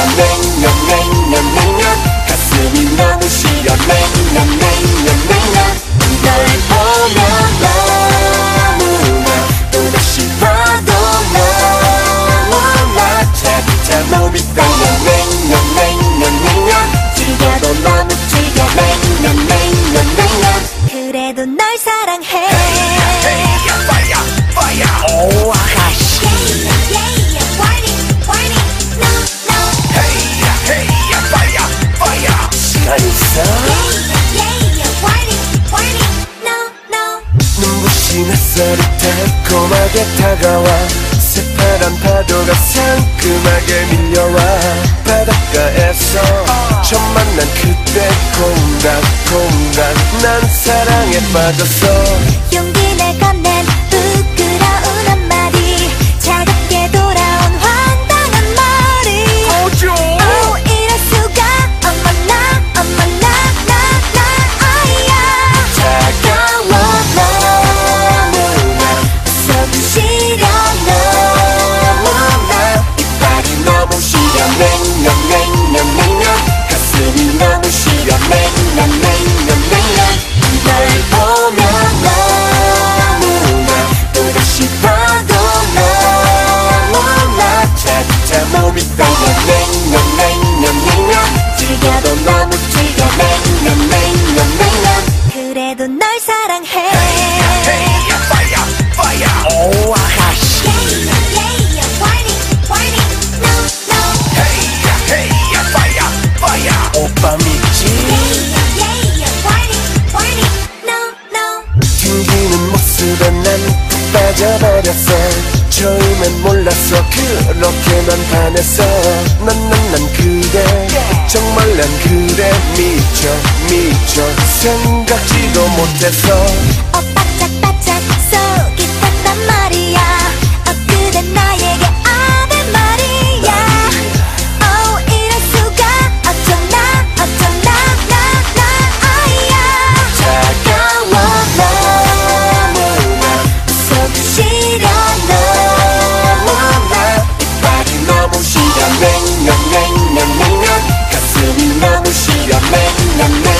냉면 가슴이 너무 시려 냉면 널 보면 너무나 또다시 봐도 너무나 차 몸이 떨려 냉면 즐겨도 너무 즐겨 냉면 그래도 널 사랑해 오 아가씨 시간 있어? 눈부신 햇살이 달콤하게 다가와 새파란 파도가 상큼하게 밀려와 바닷가에서 처음 만난 그때 공간 난 사랑에 빠졌어 용기 내 건넨 부끄러운 한마디 차갑게 돌아온 황당한 머리 오 이럴 수가 어머나 아이야 차가워 너무나 속이 시려 너무나 이빨이 너무 시려 냉면 가슴이 너무 시려 냉면 널 보면 너무나 또다시 봐도 너무나 차 몸이 떨려 냉면 즐겨도 너무 즐겨 냉면 그래도 널 사랑해 오 아가씨 오빠 믿지? 튕기는 모습에 난 푹 빠져버렸어 처음엔 몰랐어 그렇게만 반했어 난 그대 정말 난 그대 미쳐 생각지도 못했어 바짝바짝 속이 탔단 말이야 그대 나에게 아는 말이야 이럴 수가 어쩌나 아이야 차가워 너무나 속이 시려 너무나 이빨이 너무 시려 냉면 가슴이 너무 시려 냉면